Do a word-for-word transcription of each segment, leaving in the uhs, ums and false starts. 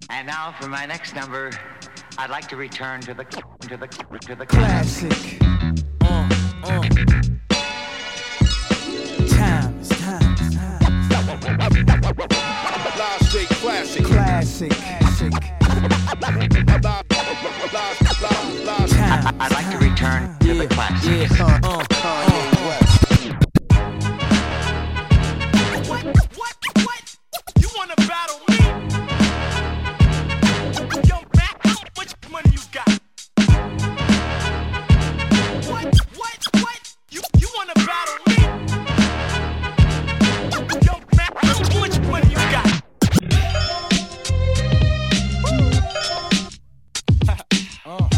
And now for my next number, I'd like to return to the to the to the classic. Uh, uh. Time is time is time. Live straight classic. Classic. Classic. I, I'd like to return to yeah, the classics. Yeah. Uh, uh, uh, uh. What? What? What? You wanna battle me? Yo, Mac, how much money you got? What? What? What? You you wanna battle me? Yo, Mac, how much money you got? uh.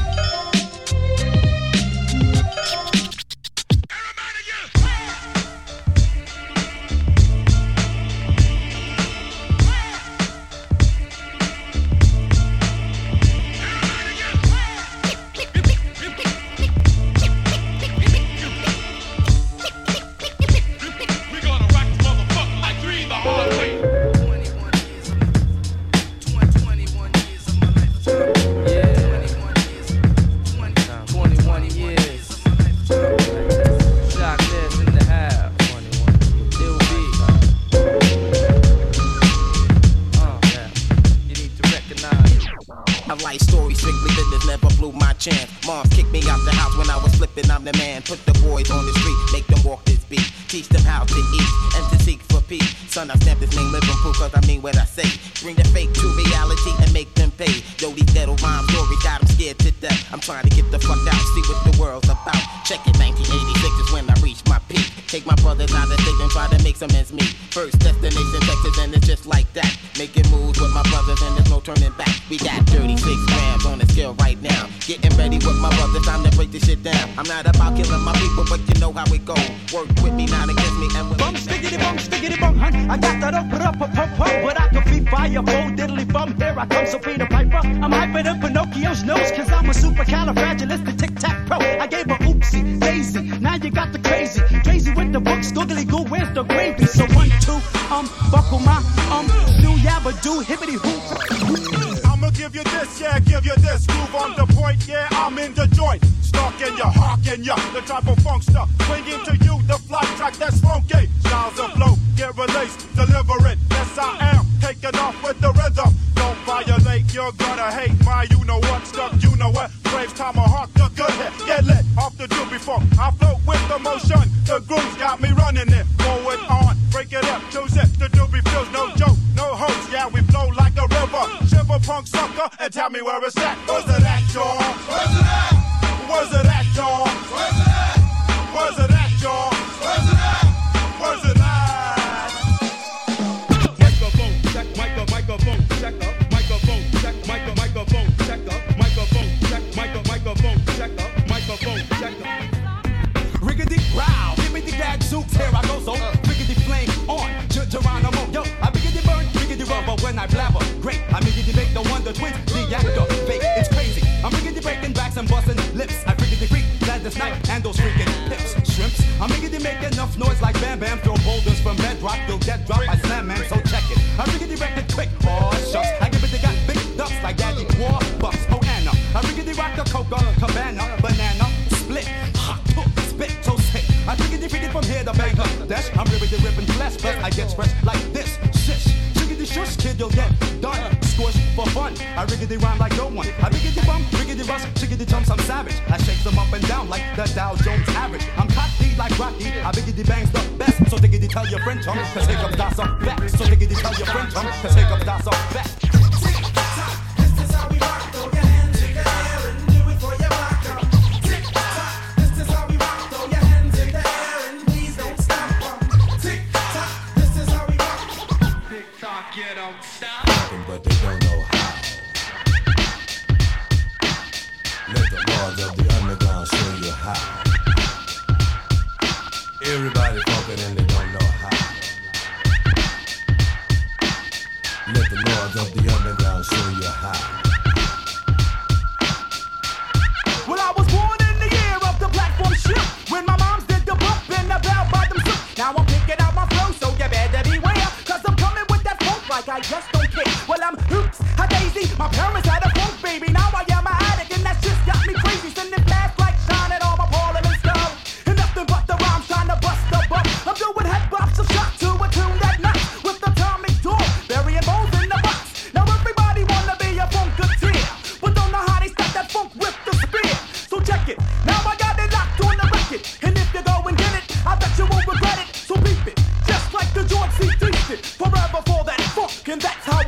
I just don't care. Well, I'm hoops, a daisy,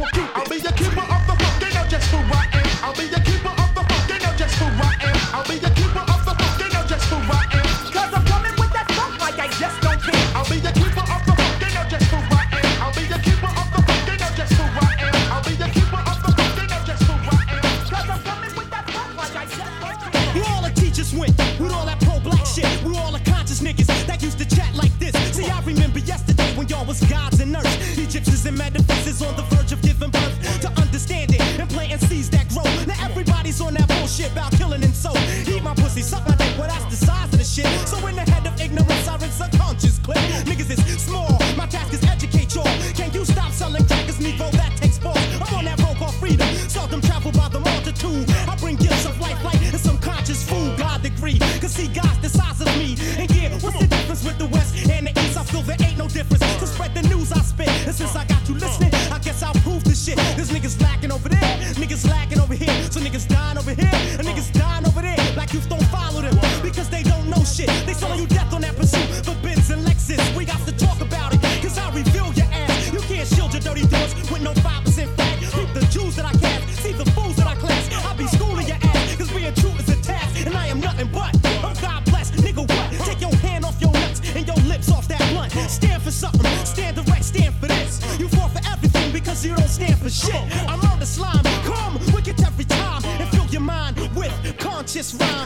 will keep it. I'll be the keeper of the book, they know just who I am. I'll be the keeper of the book, they know just who I am. I'll be the keeper of the book, they know just who I am. Cause I'm coming with that funk like I just don't care. I'll be the keeper of the book, they know just who I am. I'll be the keeper of the book, they know just who I am. I'll be the keeper of the book, they know just who I am. Cause I'm coming with that funk like I just don't care. Where all the teachers went, with all that pro-black shit, with all the conscious niggas that used to chat like this. See, I remember yesterday when y'all was gods and nerds, Egyptians and metaphysics on the verge of giving birth to understand it and planting seeds that grow. Now everybody's on that bullshit about killing and so. Eat my pussy, suck my dick, well that's the size of the shit. So in the head of ignorance, I rinse subconscious clip. Niggas is small, my task is educate y'all. Can you stop selling crackers, Negro? That takes balls. I'm on that road called freedom, seldom travel by the multitude. I bring gifts of life, light, and some conscious food. God degree, cause see God's the size of me. And yeah, what's the difference with the West and the East? I feel there ain't no difference. To spread the news I spit, and since I got you listening, I guess I'll prove the shit. There's niggas lacking over there, niggas lacking over here. So niggas dying over here, and niggas dying over there. Black youth don't follow them, because they don't know shit. They selling you death on that pursuit for Benz and Lexus. We got to talk about it, cause I reveal your ass. You can't shield your dirty doors with no five percent fat. Keep the Jews that I cast, see the fools that I class. I'll be schooling your ass, cause being true is a task. And I am nothing but, I'm God blessed, nigga what? Take your hand off your nuts and your lips off that blunt. Stand for something, stand direct, stand for this. You fall for everything because you don't stand for shit. I'm on the slime, come wicked every time. And fill your mind with conscious rhyme.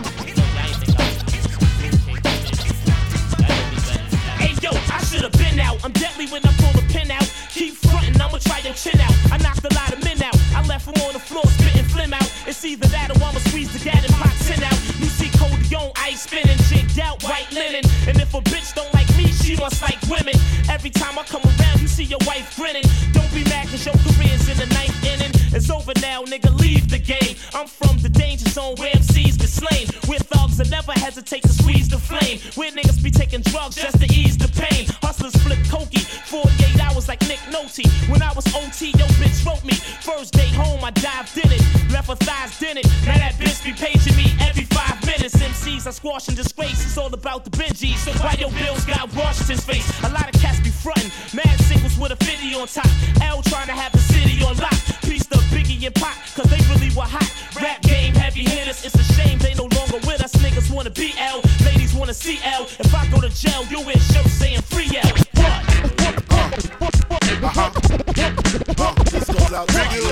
Hey yo, I should've been out. I'm deadly when I pull the pin out. Keep frontin', I'ma try your chin out. I knocked a lot of men out. I left them on the floor spitting phlegm out. It's either that or I'ma squeeze the gat and pop tin out. You see Codeon, ice spinning, jigged out, white linen. And if a bitch don't like me, she must like women. Every time I come around, you see your wife grinning. Don't be mad cause your career's in the ninth inning. It's over now, nigga, leave the game. I'm from the danger zone where M Cs get slain. Where thugs that never hesitate to squeeze the flame. Where niggas be taking drugs just to ease the pain. Hustlers flip cokey, forty-eight hours like Nick Nolte. When I was O T, yo bitch wrote me. First day home, I dived in it. Left her thighs in it. Now that bitch be paging me every five minutes. M Cs I squash and disgrace. It's all about the Benjis. So why your bills got Washington's face? A lot of cats be frontin'. Mad singles with a fifty on top. L trying to have the city on lock. Piece the Biggie and Pac, cause they really were hot. Rap game heavy hitters. It's a shame they no longer with us. Niggas wanna be L, ladies wanna see L. If I go to jail, you wear shirts saying free L. What? Uh-huh. Uh, this goes out to you.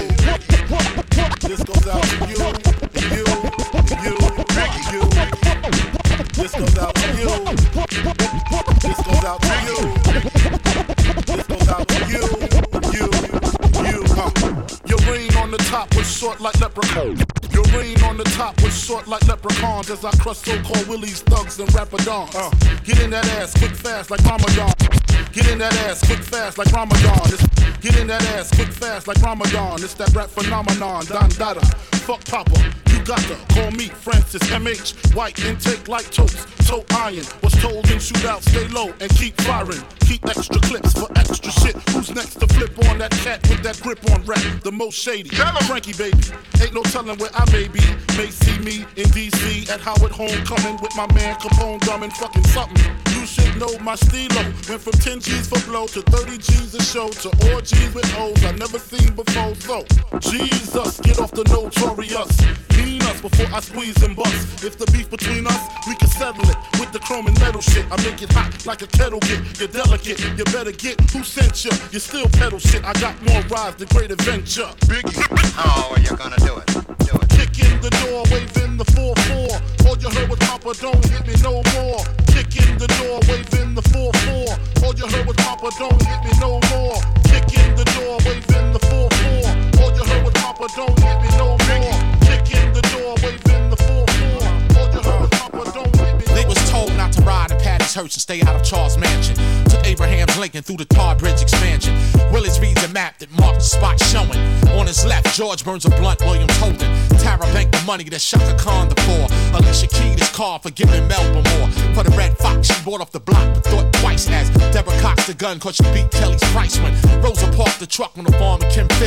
This goes out to you. You, you, you. This goes out to you. This goes out to you. This goes out to you. You, you. Uh. Your reign on the top was short like leprechaun. Your reign on the top was short like leprechauns as I crush so-called willies, thugs, and rapadons. Uh. Get in that ass quick fast like Ramadan. Get in that ass quick fast like Ramadan. It's, get in that ass quick fast like Ramadan. It's that rap phenomenon, Don Dada. Fuck Papa, you got to call me Francis M H. White intake like toast, toe iron. Was told in shootout, stay low and keep firing. Keep extra clips for extra shit. Who's next to flip on that cat with that grip on rap? The most shady, Frankie baby. Ain't no telling where I may be. May see me in D C at Howard Homecoming with my man Capone drumming fucking something. You should know my stilo. Went from ten G's for blow to thirty G's a show to orgies with O's I never seen before. So, Jesus, get off the notorious. Mean us before I squeeze and bust. If the beef between us, we can settle it with the chrome and metal shit. I make it hot like a kettle get. You're delicate, you better get who sent you. You still pedal shit. I got more rides than Great Adventure. Biggie. Oh, you're gonna do it. Do it. Kick in the door, waving the four four. All you heard was Papa, don't hit me no more. Kick in the door, waving the four four. All you heard was Papa, don't hit me no more. Kick in the door, waving the four four. All you heard was Papa, don't hit me no more. Kick in the door, waving the four four. All you heard was Papa, don't hit me no more. They was told not to ride in Patty's Hearst and stay out of Charles Mansion. Took Abraham's Lincoln through the Tar Bridge expansion. Willis reads a map that marked the spot showing. On his left, George burns a blunt, William Holden. Tara banked the money that Shaka Khan the poor. Alicia keyed his car for giving Melba more. For the Red Fox, she bought off the block, but thought twice as Deborah cocked the gun cause she beat Kelly's price when Rosa parked the truck on the farm in Kim Fields.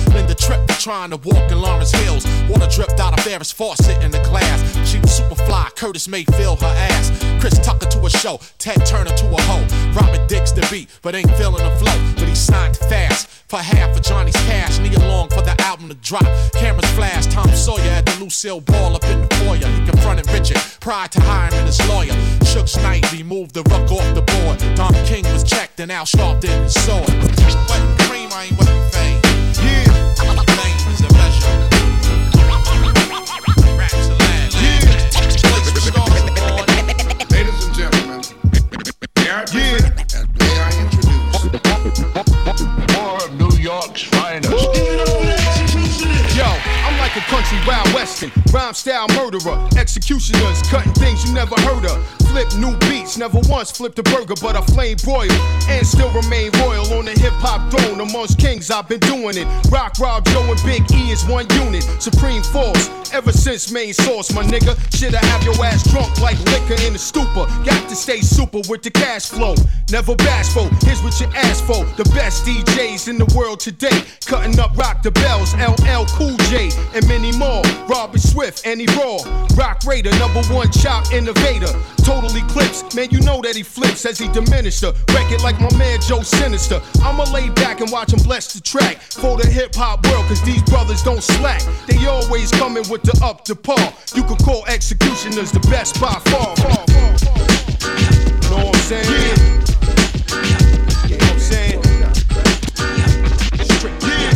Linda tripped trying to walk in Lawrence Hills. Water dripped out of Ferris faucet in the glass. She was super fly, Curtis Mayfield her ass. Chris Tucker to a show, Ted Turner to a hoe. Robert Dix the beat, but ain't feeling the flow. But he signed fast for half of Johnny's cash. Knee along for the album to drop. Cameras flash, Tom Sawyer at the Lucille Ball up in the foyer. He confronted Richard prior to hiring his lawyer. Suge Knight removed the ruck off the board. Don King was checked and Al Sharpton his sword. Wetting cream, I ain't wetting fame. Yeah. Fame is a measure. Raps a land. Yeah. Ladies and gentlemen, may I present and may I introduce more of New York's finest. Yo, I'm like a country wild western, rhyme style murderer, executioners cutting things you never heard of. Flip new beats, never once flipped a burger, but I flame broil and still remain royal on the hip hop throne. Amongst kings, I've been doing it. Rock, Rob, Joe, and Big E is one unit. Supreme force, ever since main source, my nigga. Shit, I have your ass drunk like liquor in a stupor. Got to stay super with the cash flow. Never bashful. Here's what you asked for. The best D Js in the world today, cutting up Rock the Bells, L L Cool J, and many more. Robert Swift, and he raw. Rock Raider, number one chop innovator. Total eclipse, man, you know that he flips as he diminished her. Wreck it like my man Joe Sinister. I'ma lay back and watch him bless the track for the hip hop world, cause these brothers don't slack. They always coming with the up to par. You could call executioners the best by far. far, far, far. Know what I'm saying? Yeah. You know what I'm saying? Straight, yeah.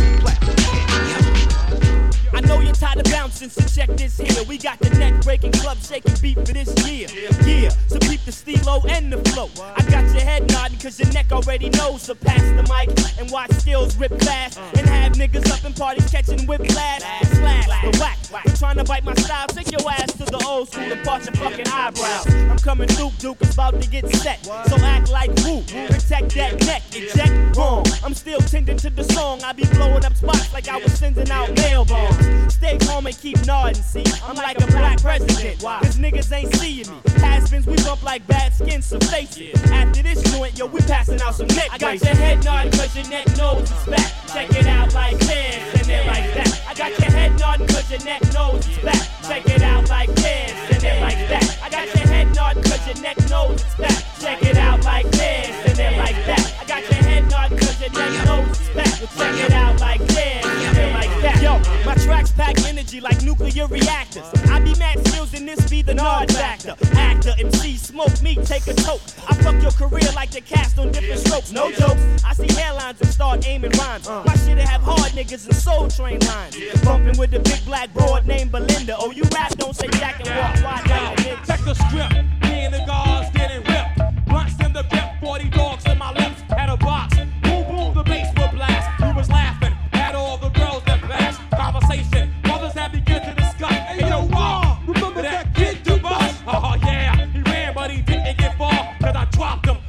I know you're tired of bouncing, so check this here. We got the neck-breaking, club-shaking beat for this year. Yeah, so keep the stilo and the flow. I got your head nodding, cause your neck already knows. So pass the mic and watch skills rip fast. And have niggas up in parties catching whiplash. Slash, the whack. You trying to bite my style? Take your ass to the old school and part your fucking eyebrows. I'm coming through, Duke is about to get set. So act like woo, protect that neck. Eject wrong. I'm still tending to the song. I be blowing up spots like I was sending out mail bombs. Stay calm and keep nodding, see? I'm like a black president, cause niggas ain't seeing me. Has-beens, we bump like bad skin, so face it. After this joint, yo, we passing out some neck. I got your head nodding cause your neck knows it's back. Check it out like this, and then like that. I got your head nodding cause your neck knows it's back. Check it out like this, and then like that. I got your head nodding cause your neck knows it's back. Check it out like this, and then like that. I got your head nodding cause your neck knows it's back. Well, check it out like this, and then like that. Yo, my tracks pack energy like nuclear reactors. I be mad skills and this be the nod factor. Actor, M C, smoke me, take a toke. I fuck your career like the cast on different strokes. No jokes. I see hairlines and start aiming rhymes. My shit'll have hard niggas and soul train lines. Bumping with the big black broad named Belinda. Oh, you rap, don't say jack and walk wide like a nigga. Check the script. Me and the guards getting ripped. Blunts in the grip, forty dogs in my lips. Had a box. Boom, boom, the bass would blast. We was laughing at all the girls that passed. Conversation. Mothers that begin to discuss. Hey, yo, Raw, remember that kid to bust? Oh, yeah. He ran, but he didn't get far. Cause I dropped him.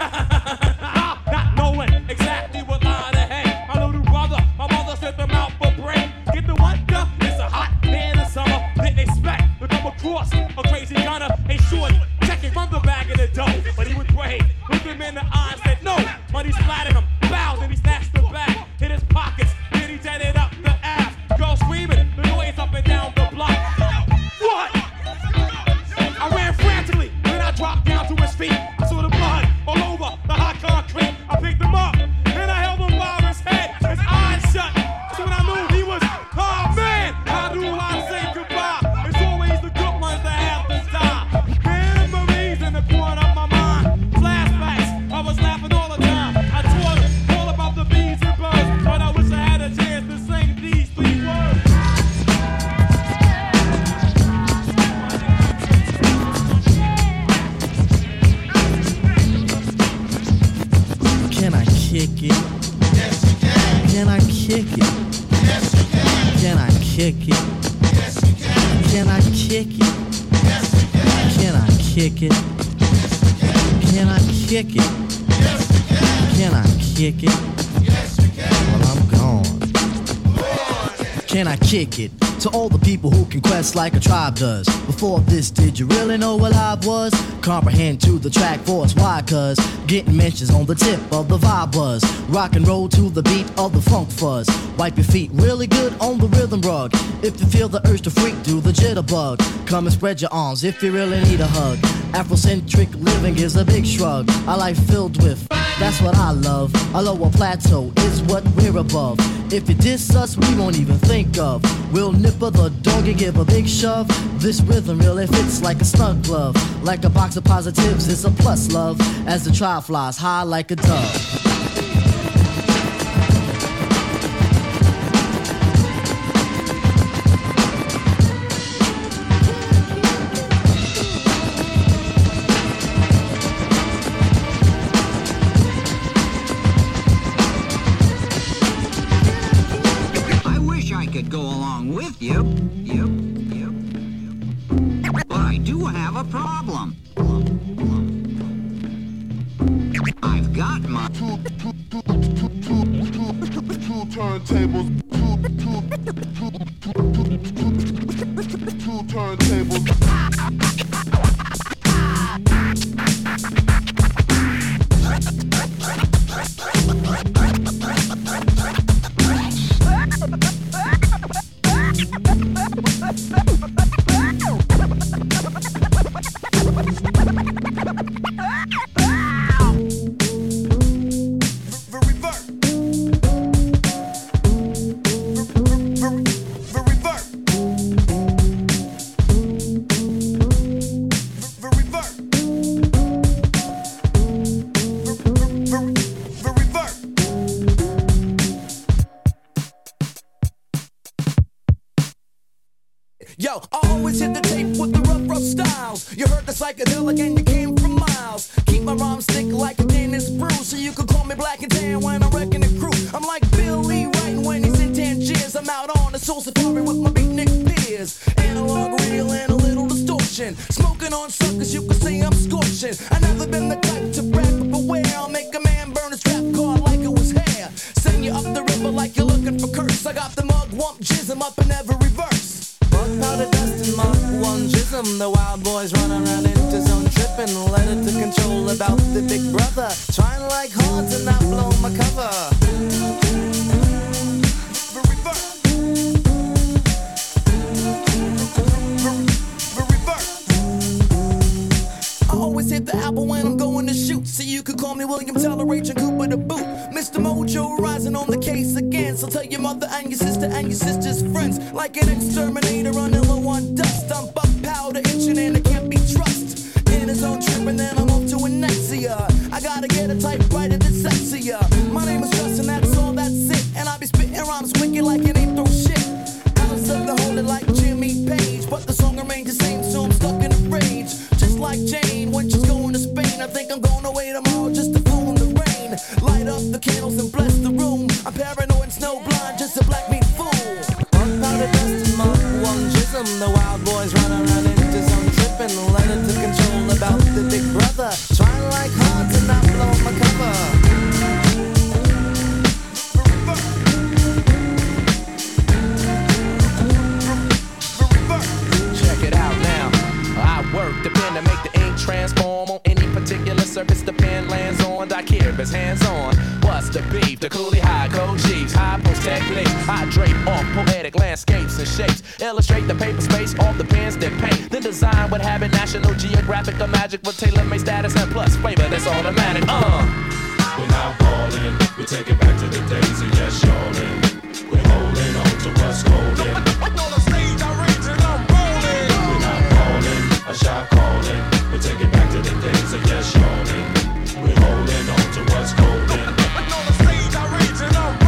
Not knowing exactly what line to hang. My little brother, my mother sent them out for break. Get the what? It's a hot day in the summer. Didn't expect to come across a crazy gunner. Ain't sure checking from the bag of the dough. But he was brave. Looked him in the eyes, said no. Money splattered him. Bowed and he snatched the bag. Hit his pockets. Then he jetted up the ass. Girl screaming. The noise up and down the block. What? I ran frantically. Then I dropped down to his feet. I saw the blood all over the hot concrete. I picked him up. Then I held him by his head. His eyes shut. So when I knew he was, oh man, how do I say goodbye? It's always the good ones that have to die. Memories in the corner of my mind. Flashbacks. I was laughing all the time. I taught him all about the bees and birds. But I wish I had a chance to sing these three words. Can I kick it? Yes, you can. Can I kick it? Yes, you can. Can I kick it? Yes, you can. Can I kick it? Yes, you can. Can I kick it? Can I kick it? Yes, you can. Can I kick it? Yes, you can. Well, I'm gone. Can I kick it? To all the people who can quest like a tribe does. Before this, did you really know what I was? Comprehend to the track force, why? Cause getting mentions on the tip of the vibe buzz. Rock and roll to the beat of the funk fuzz. Wipe your feet really good on the rhythm rug. If you feel the urge to freak, do the jitterbug. Come and spread your arms if you really need a hug. Afrocentric living is a big shrug. A life filled with, that's what I love. A lower plateau is what we're above. If you diss us, we won't even think of. We'll nipper the dog and give a big shove. This rhythm really fits like a snug glove. Like a box of positives, it's a plus love. As the tribe flies high like a dove. You, you, you, you. But I do have a problem. I've got my two, two, two, two, two, two, two, two turntables. Two, two, two, two, two turntables. Yo, I always hit the tape with the rough, rough styles. You heard the psychedelic and you came from miles. Keep my rhymes thick like a Dennis Bruce, so you can call me Black and Tan when I'm wrecking the crew. I'm like Billy Wright when he's in Tangiers. I'm out on the soul safari with my beatnik peers. Analog reel and a little distortion. Smoking on suckers, you can say I'm scorching. I never been the type to brag, but beware, I'll make a man burn his trap card like it was hair. Send you up the river like you're looking for curse. I got the mug, wump, jism up in every verse. Powder dust and Mark one jism. The wild boys run around into zone tripping. Let it to control about the big brother. Trying like hard to not blow my cover. I always hit the apple when I'm going to shoot. So you could call me William Teller, Agent Cooper the boot. Mister Mojo rising on the case again. So tell your mother and your sister and your sister's friends. Like an exterminator on low on dust. I'm buck powder itching and I can't be trusted. In his own trip and then I'm off to Anexia. I gotta get a typewriter that's sexier. My name is Justin, that's all, that's it. And I be spitting rhymes wicked like it ain't throw shit. Alice of the Holy like Jimmy Page. But the song remains the same, so I'm stuck in a rage. Just like Jane when she's going to Spain. I think I'm going away tomorrow just to fool in the rain. Light up the candles and bless the room. I'm paranoid and snowblind, just a black meat fool. One powder dust and Mark one jism. The wild boys run around into some tripping. Let it to control about the big brother. Trying like hard to not blow my cover. Work the pen to make the ink transform on any particular surface the pen lands on. I care if it's hands on. What's the beef? The coolie high code chiefs, high post techniques. I drape off poetic landscapes and shapes. Illustrate the paper space off the pens that paint. Then design what habit National Geographic or magic with tailor-made status and plus flavor that's automatic. Uh. We're not balling, we take it back to the days of yes, y'allin'. We're holding on to what's golden. On the stage, I rage and I'm rolling. We're not balling, a shot calling. We take it back to the days of yes, y'allin'. We're holding on to what's golden. On the stage, I rage and I'm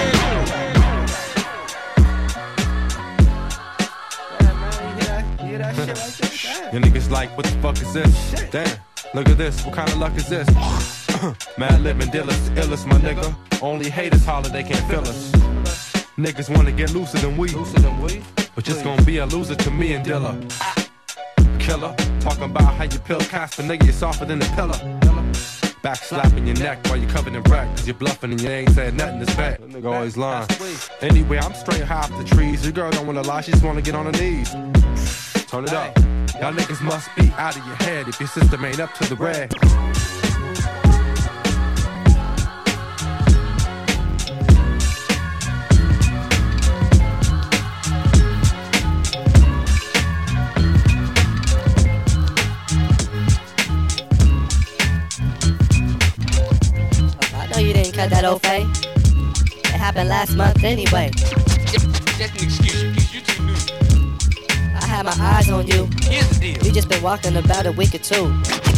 rolling. Yeah, man, you hear that, you hear that shit right there? Your niggas like, what the fuck is this? Shit. Damn, look at this, what kind of luck is this? Mad living dealers, illest, my nigga. Only haters holler, they can't feel us. Niggas wanna get looser than we, looser than we. But just gonna be a loser to me and Dilla. Killer, talking about how you pill Casper, nigga, you're softer than a pillar. Back slapping your neck while you're covered in wreck. Cause you're bluffing and you ain't saying nothing that's back. That nigga always lying. Anyway, I'm straight high off the trees. Your girl don't wanna lie, she just wanna get on her knees. Turn it up. Y'all niggas must be out of your head if your system ain't up to the red. Cut that old fade. It happened last month anyway. Just, just an excuse, you, you too new. I had my eyes on you. Here's the deal. You just been walking about a week or two.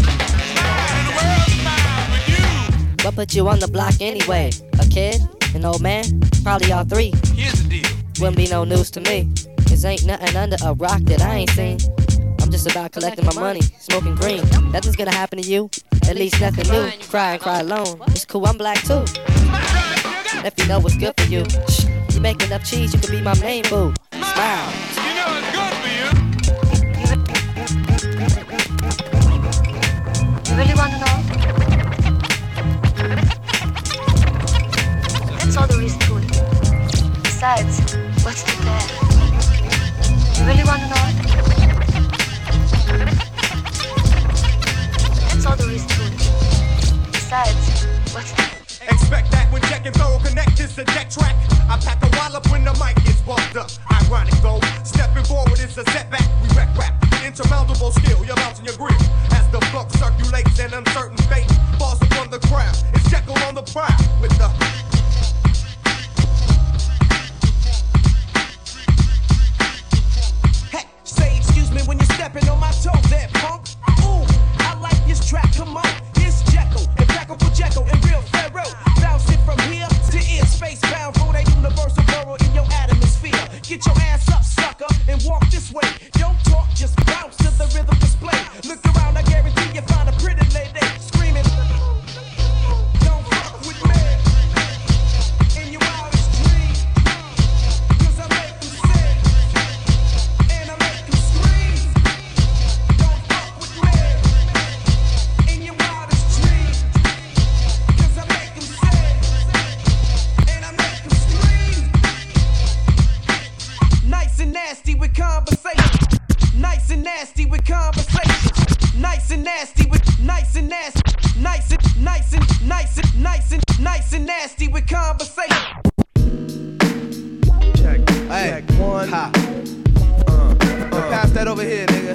What put you on the block anyway? A kid? An old man? Probably all three. Here's the deal. Wouldn't be no news to me. Cause ain't nothing under a rock that I ain't seen. I'm just about collecting my money, smoking green. Nothing's gonna happen to you. At least nothing new. Cry and cry alone. It's cool, I'm black too. If you know what's good for you. Shh, you making up cheese, you could be my main boo. Smile. You know it's good for you. You really wanna know? That's all there is to it. Besides, what's to there? You really wanna know? That's all there is to it. Besides, what's that? Expect that when Jack and Thorough connect, it's a deck track. I pack a wallop when the mic gets bumped up. Ironic though, stepping forward is a setback. We wreck rap, intermountable skill, you're mounting your grip. As the flux circulates an uncertain fate falls upon the crowd. It's Jekyll on the prowl with the... Hey, say excuse me when you're stepping on my toes there, punk. Ooh, I like this track, come on. It's Jekyll, and Jekyll for Jekyll, and real Pharaoh. Bounce it from here to ear, space bound for that universal burrow in your atmosphere. Get your ass up, sucker, and walk this way. Don't talk, just bounce to the rhythm display. Look around, I guarantee you find a pretty lady screaming. Don't fuck with me in your wildest dreams. Cause I make them sick, and I make them scream. Don't fuck with me in your wildest dreams. Cause I make them sick, and I make them scream. Nice and nasty with conversation. Nice and nasty with conversation. Nice and nasty with nice and nasty. Nice and nice and nice and nice and nice and nasty with conversation. Check, hey, check one. Ha. Uh, uh, pass that over here, nigga.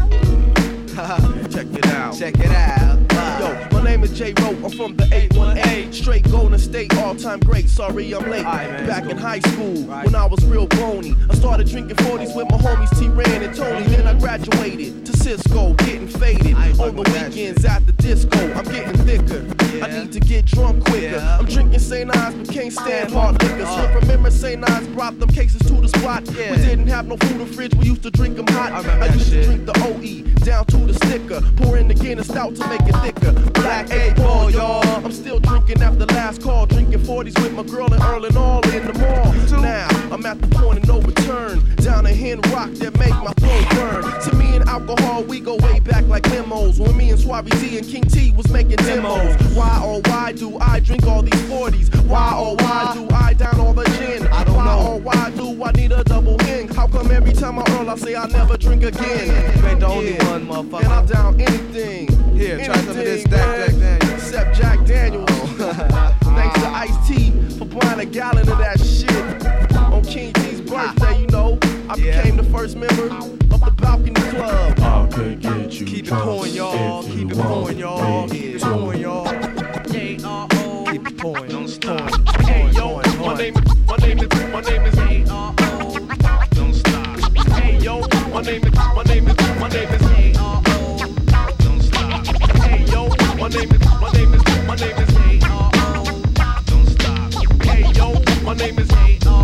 Check it out. Check it out. Uh. Yo, my name is J. Rowe. I'm from the eight one eight. Straight Golden State, all-time great. Sorry I'm late. Right, man, back in high school, right. When I was real bony, I started drinking forties with my homies T-Ran and Tony. Then I graduated to Cisco, getting faded. On the weekends at the disco, I'm getting thicker. Yeah. I need to get drunk quicker. Yeah. I'm drinking Saint Ives, but can't stand hard liquor. Uh. So remember Saint Ives brought them cases to the spot. Yeah. We didn't have no food or fridge, we used to drink them hot. I, I used shit. to drink the O E down to the sticker. Pour in the Guinness stout to make it thicker. Black eight ball, y'all. I'm still drinking after last call. Drinking forties with my girl and Earl and all in the mall. Now, I'm at the point of no return. Down a hen rock that make my flow burn. To me and alcohol, we go way back like limos. When me and Suave Z and King T was making demos. Why, oh why do I drink all these forties? Why, oh why do I down all the gin? I don't know. Why, oh why do I need a double hen? How come every time I Earl, I say I never drink again? You ain't the only yeah. one, motherfucker. And I'm down anything. Here, anything, try some of this Jack Daniels. Except Jack Daniels. Oh. Thanks to Ice-T for buying a gallon of that shit. On King T's birthday, you know, I yeah. became the first member of the Balcony Club. I could get you Keep it pouring, y'all. Keep it pouring, y'all. Keep it pouring, y'all. J R O. Keep it pouring. Don't stop. Hey, yo, my name is, my name is, my name is J R O. Don't stop. Hey, yo, my name is, my name is, my name is J R O. Don't stop. Hey, yo, my name is, my name is, my name is J R O. Don't stop. Hey, yo, my name is J R O.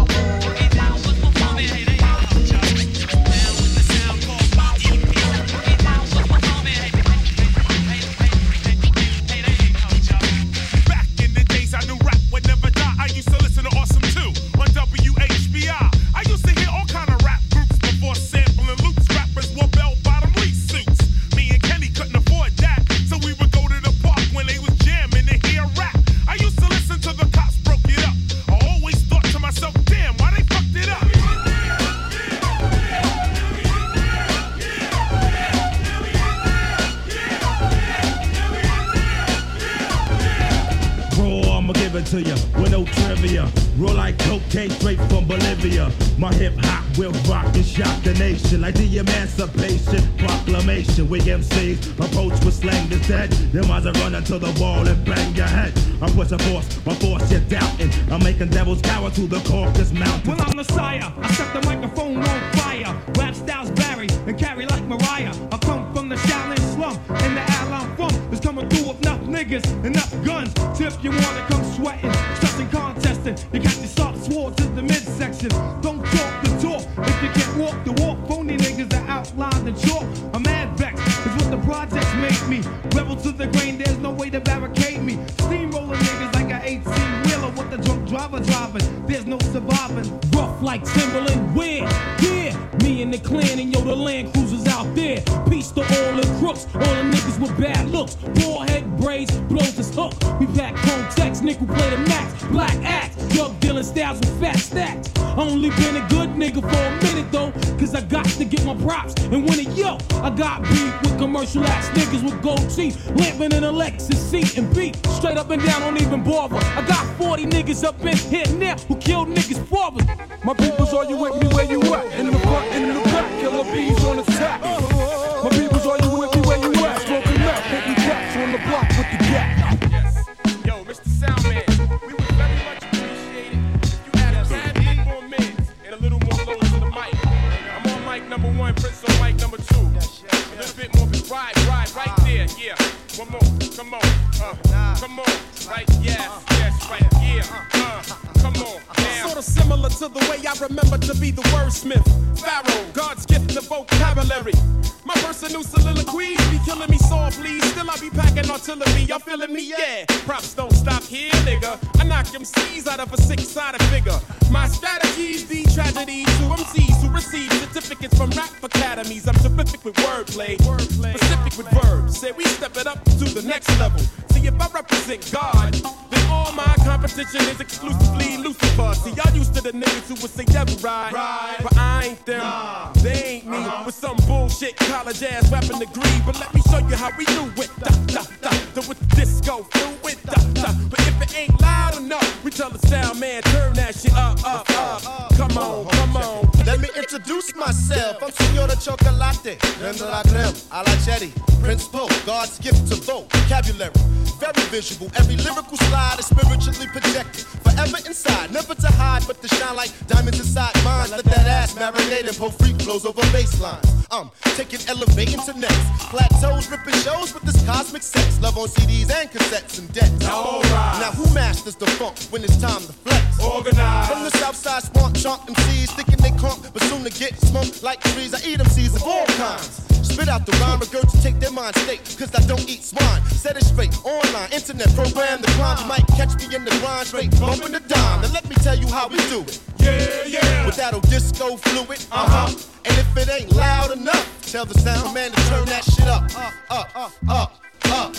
to you with no trivia. Roll like cocaine straight from Bolivia. My hip hop will rock and shock the nation like the Emancipation Proclamation. We M Cs approach with slang that's dead. Them eyes are running to the wall and bang your head. I'm pushing force, my force you're doubting. I'm making devils cower to the Caucasus Mountain. Well, I'm the sire. I set the microphone on fire. Rap styles vary and carry like Mariah. I come from the Shaolin slum, and the alley I'm from is coming through with enough niggas, enough guns. So if you wanna come sweating, stressing, contesting, you got your sharp swords in the midsection. Don't talk the talk if you can't walk the walk. Phony niggas that outline the chalk. I'm mad vexed, is what the projects make me. Rebel to the grain, there's no way to barricade me. Steamrolling niggas like an eighteen wheeler with the drunk driver driving. There's no surviving. Rough like Timberland, where? Yeah, me and the clan and yo, the Land Cruisers out there. Peace to all the crooks, all the niggas with bad looks. Bald head braids, blows his hook. We pack chrome text, nickel play the max. Black axe, drug dealing styles with fat stacks. Only been a good nigga for a minute though, cause I got to get my props and win it, yo. I got beat with commercial ass niggas with gold teeth, lamping in a Lexus seat and beat straight up and down, don't even bother. I got forty niggas up in here now who killed niggas fathers. My peoples, are you with me where you at? In the front, in the back, killer bees on attack. My peoples, are you with me where you at? Smoking meth, hitting cats on the block with the gap. Yes. Yo, Mister Soundman, we would very much appreciate it if you had a tad more minutes and a little more load to the mic. I'm on mic number one, Prince on mic number two. A little bit more, right, right, right there, yeah. One more, come on, uh, come on, right, yes, yes, right, yeah, uh, come on, now. Sort of similar to the way I remember to be the wordsmith. Pharaoh, God's gift to vocabulary. My personal soliloquies be killing me softly. Still I be packing artillery, y'all feeling me? Yeah. Props don't stop here, nigga. I knock M Cs out of a six-sided figure. My strategies be tragedies to M Cs who receive certificates from rap academies. I'm terrific with wordplay, specific with verbs. Say we step it up to the next level. See if I represent God, then all my competition is exclusively Lucifer. See y'all used to the niggas who would say devil ride, right. But I ain't them, nah. They ain't me uh-huh. With some bullshit college ass rapping degree. But let me show you how we do it. Da da da, da with the disco fluid. Da da. But if it ain't loud enough, we tell the sound man turn that shit up, up, up. Come on, come on. Let me introduce myself. I'm Signora Chocolate, creme de la creme, a la cherry, Prince Poe, God's gift to vocabulary. Very visual, every lyrical slide is spiritually projected. Forever inside, never to hide, but to shine like diamonds inside mine. Let that ass marinate and pull freak flows over baselines. I'm taking elevating to next plateaus, ripping shows with this cosmic sex. Love on C Ds and cassettes and decks. All right. Now who masters the funk when it's time to flex? Organize. From the south side, swamp chomp M Cs, thinking they crunk, but soon to get smoked like trees. I eat M Cs of all kinds. Spit out the rhyme, regurgitate their mind state, cause I don't eat swine. Set it straight, online, internet, program the crime. You might catch me in the grind, straight bumping the dime. Now let me tell you how we do it. Yeah, yeah. With that old disco fluid, uh-huh. And if it ain't loud enough, tell the sound man to turn that shit up, up, up, up, up.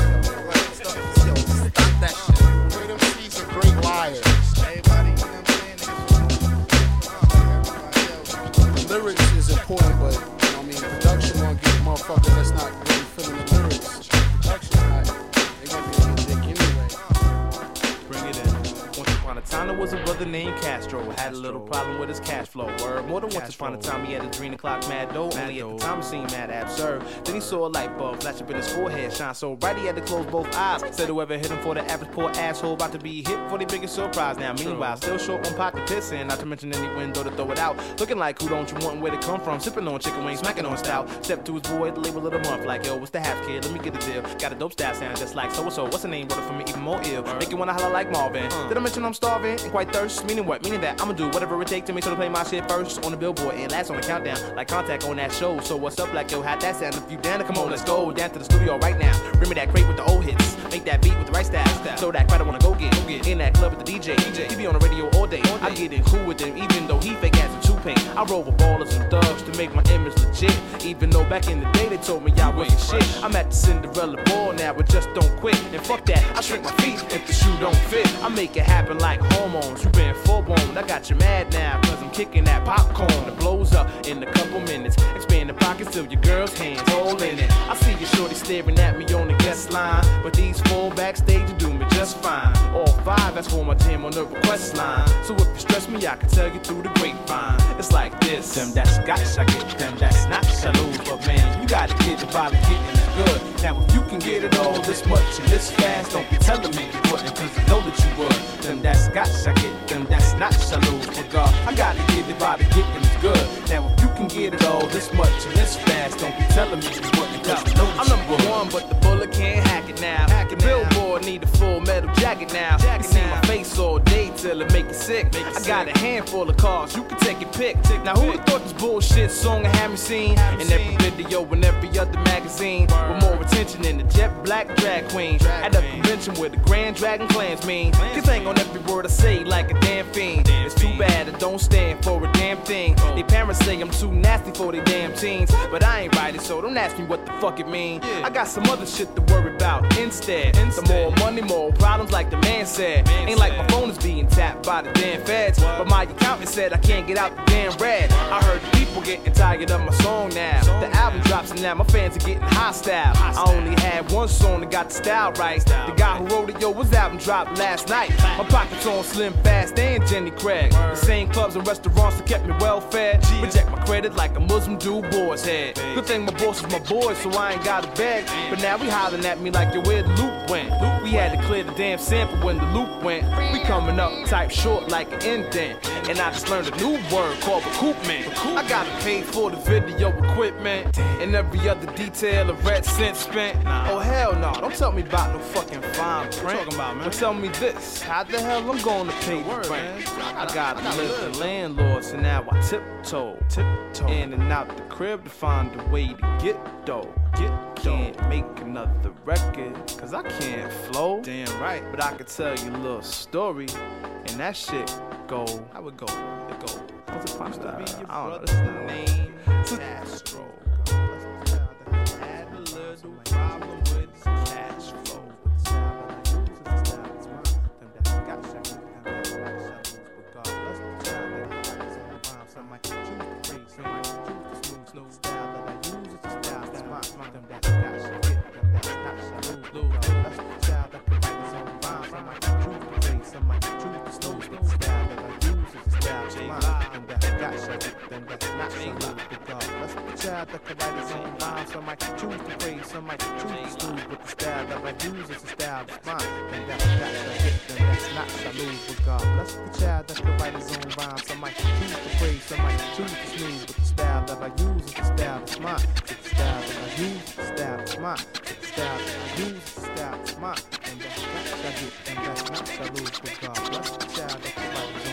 Stop that shit. Great M Cs are great liars. Everybody, you know what I'm saying? The lyrics is important, but I mean, production won't get a motherfucker that's not really feeling the lyrics. Production, right? They gonna be a dick anyway. Bring it in. Once upon a time, there was a brother named Castro. Had a little problem with his cash flow. Word. More than once upon a time, he had his green o'clock mad dough. Only at the time it seemed mad absurd. Then he saw a light bulb flash up in his forehead, shine so bright he had to close both eyes. Said whoever hit him for the average poor asshole about to be hit for the biggest surprise. Now meanwhile, still short on pocket pissing, not to mention any window to throw it out. Looking like who don't you want and where to come from? Sipping on chicken wings, smacking on stout. Step to his boy, the label of the month, like yo, what's the half kid? Let me get a deal. Got a dope style sound just like so and so. What's the name? Brother for me even more ill. Make you wanna holler like Marvin. Uh. Did I mention I'm starving and quite thirst? Meaning what? Meaning that I'ma do whatever it takes to make sure to play my shit first on the billboard and last on the countdown. Like Contact on that show. So what's up, like yo, how'd that sound? If you down to come on, let's go down to the studio right now. Bring me that crate with the old hits. Make that beat with the right style. So that crowd I wanna go get. Go get in that club with the D J. D J. He be on the radio all day. All day. I get in cool with him, even though he fake ass and two-paint. I roll with ballers and thugs to make my image legit. Even though back in the day they told me I wasn't shit. I'm at the Cinderella ball now, but just don't quit. And fuck that, I shrink my feet if the shoe don't fit. I make it happen like hormones. You been full blown. I got you mad now, cause I'm kicking that popcorn that blows up. her in a couple minutes. Expand the pockets till your girl's hands holding it. I see your shorty staring at me on the guest line, but these four backstage do me just fine. All five, that's for my jam on the request line. So if you stress me, I can tell you through the grapevine. It's like this. Them that's scotch, I get them that's not saloon. But man, you gotta get the body getting it good. Now if you can get it all this much and this fast, don't be telling me you wouldn't, cause I know that you would. Them that's scotch, I get them that's not saloon. But God, I gotta get the body getting it good. Now if you can get it all this much and this fast, don't be telling me you wouldn't, cause I know that I'm number one, but the bullet can't hack it now. Hack the billboard need a full metal jacket now. You see my face all day till it make you sick. I got a handful of cars, you can take your pick. Now who would've thought this bullshit song I had me seen in every video and every other magazine with more attention than the jet black drag queen at a convention where the Grand Dragon clans mean. Cause ain't on every word I say like a damn fiend. It's too bad I don't stand for a damn thing. They parents say I'm too nasty for they damn teens, but I ain't right it, so don't ask me what the fuck it mean. I got some other shit to worry about instead. Some more money, more problems like the man said. Ain't like my phone is being tapped by the damn feds, but my accountant said I can't get out the damn red. I heard the people getting tired of my song now. The album drops and now my fans are getting hostile. I only had one song that got the style right. The guy who wrote it, yo, his album dropped last night. My pockets on Slim Fast and Jenny Craig. The same clubs and restaurants that kept me well fed. Reject my credit like a Muslim dude boy's head. Good thing my boss is my boy, so I ain't gotta beg. But now we hollering at me like, yo, where the loop went? We had to clear the damn sample when the loop went. We coming up type short like an indent. And I just learned a new word called recoupment. I got paid for the video equipment and every other detail of red cent spent. Oh hell no, don't tell me about no fucking fine print. Talking about, man? But tell me this, how the hell I'm gonna pay the rent? I gotta live the landlord, so now I tiptoe, tiptoe in and out the crib to find a way to get dough. Get can't make another record, cause I can't flow. Damn right. But I could tell you a little story, and that shit go. I would go. It go. What's it supposed to be? Your I don't know. This is the name. Astro. Had a little problem with his cash flow. Child that could write his own rhymes, some might choose to praise, some might choose to smooth, but the style that I use is a style that's mine. And that's got to hit, then that's not salute. But God bless the child that could write his own rhymes, some might choose to praise, some might choose to smooth, but the style that I use is the style that's mine. It's the style that I use is the style that's mine. It's the style that I use is the style that's mine. And that's got to hit, and that's not salute. But God bless the child that could write his